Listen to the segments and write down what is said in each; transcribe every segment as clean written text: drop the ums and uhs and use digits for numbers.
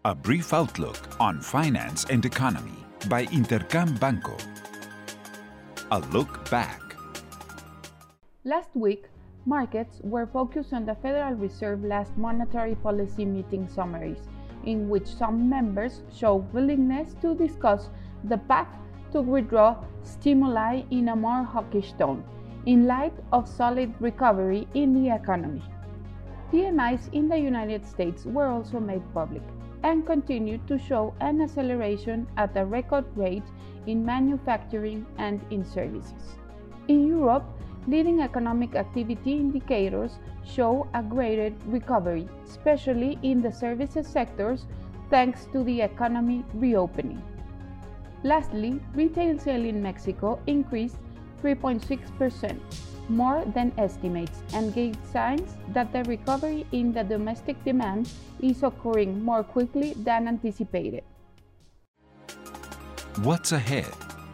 A brief outlook on finance and economy by Intercam Banco. A look back. Last week, markets were focused on the Federal Reserve last monetary policy meeting summaries, in which some members showed willingness to discuss the path to withdraw stimuli in a more hawkish tone, in light of solid recovery in the economy. PMIs in the United States were also made public and continued to show an acceleration at a record rate in manufacturing and in services. In Europe, leading economic activity indicators show a greater recovery, especially in the services sectors, thanks to the economy reopening. Lastly, retail sales in Mexico increased 3.6%, more than estimates, and gave signs that the recovery in the domestic demand is occurring more quickly than anticipated. What's ahead?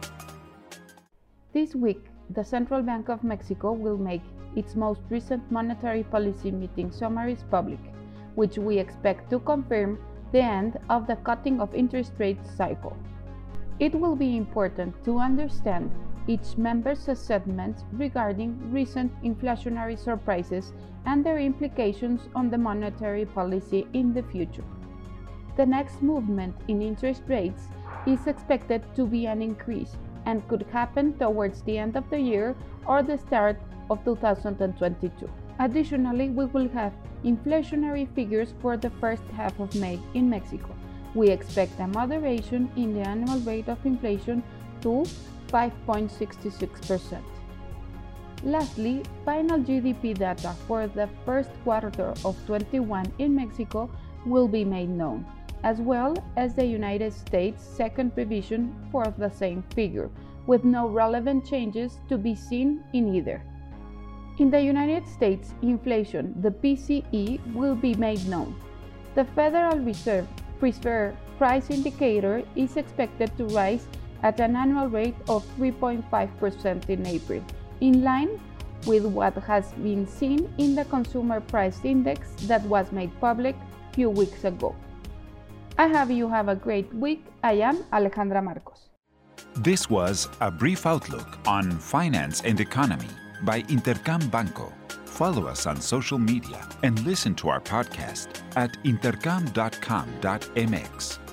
This week, the Central Bank of Mexico will make its most recent monetary policy meeting summaries public, which we expect to confirm the end of the cutting of interest rates cycle. It will be important to understand each member's assessments regarding recent inflationary surprises and their implications on the monetary policy in the future. The next movement in interest rates is expected to be an increase and could happen towards the end of the year or the start of 2022. Additionally, we will have inflationary figures for the first half of May in Mexico. We expect a moderation in the annual rate of inflation to 5.66%. Lastly, final GDP data for the first quarter of 2021 in Mexico will be made known, as well as the United States' second revision for the same figure, with no relevant changes to be seen in either. In the United States, inflation, the PCE, will be made known. The Federal Reserve Preferred Price Indicator is expected to rise at an annual rate of 3.5% in April, in line with what has been seen in the Consumer Price Index that was made public a few weeks ago. I have you have a great week. I am Alejandra Marcos. This was a brief outlook on finance and economy by Intercam Banco. Follow us on social media and listen to our podcast at intercam.com.mx.